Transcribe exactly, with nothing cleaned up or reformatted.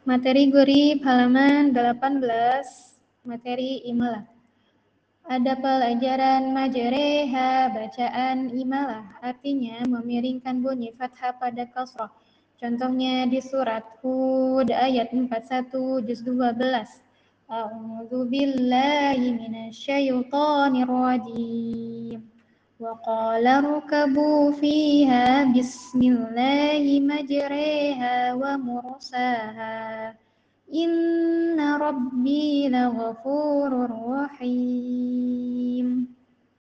Materi gurih halaman delapan belas, materi imalah. Ada pelajaran majreha, bacaan imalah, artinya memiringkan bunyi fathah pada kasrah. Contohnya di surat Hud ayat empat puluh satu juz dua belas. A'udzu billahi minasyaitonir rajim. Wa qala rukabu fiha bismillahi majreha wa mursaha. Inna rabbi laghafurur rahim.